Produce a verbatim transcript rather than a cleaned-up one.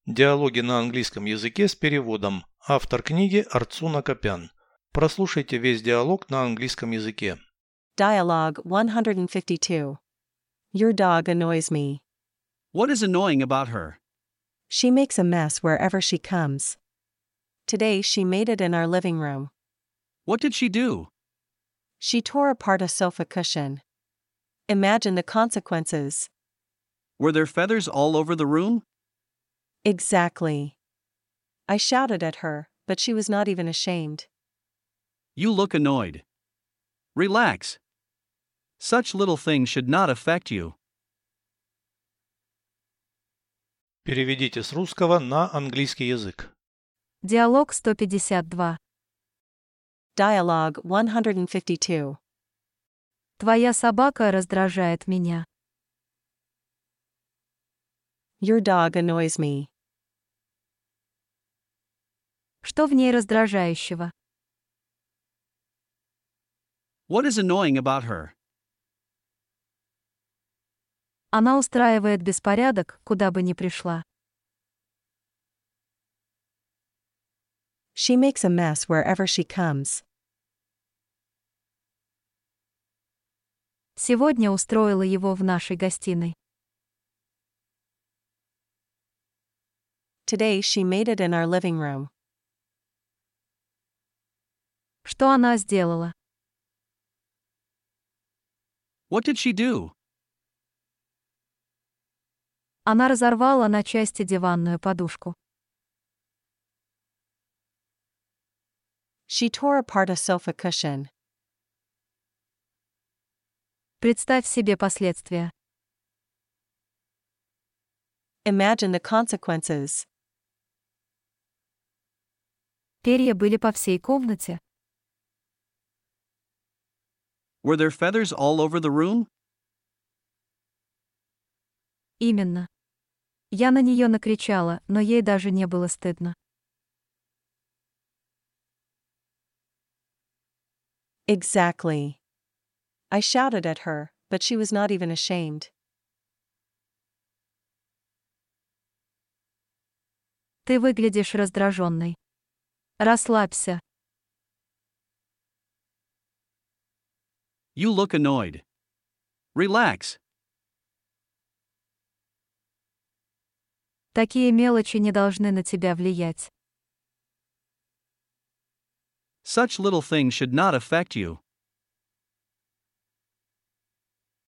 Диалоги на английском языке с переводом. Автор книги Арцуна Копян. Прослушайте весь диалог на английском языке. Dialogue one fifty-two. Your dog annoys me. What is annoying about her? She makes a mess wherever she comes. Today she made it in our living room. What did she do? She tore apart a sofa cushion. Imagine the consequences. Were there feathers all over the room? Exactly. I shouted at her, but she was not even ashamed. You look annoyed. Relax. Such little things should not affect you. Переведите с русского на английский язык. Диалог сто пятьдесят два. Dialogue one fifty-two. Твоя собака раздражает меня. Your dog annoys me. Что в ней раздражающего? What is annoying about her? Она устраивает беспорядок, куда бы ни пришла. She makes a mess wherever she comes. Сегодня устроила его в нашей гостиной. Today she made it in our living room. Что она сделала? What did she do? Она разорвала на части диванную подушку. She tore apart a sofa cushion. Представь себе последствия. Imagine the consequences. Перья были по всей комнате. Were there feathers all over the room? Именно. Я на нее накричала, но ей даже не было стыдно. Exactly. I shouted at her, but she was not even ashamed. Ты выглядишь раздраженной. Расслабься. You look annoyed. Relax. Такие мелочи не должны на тебя влиять. Such little things should not affect you.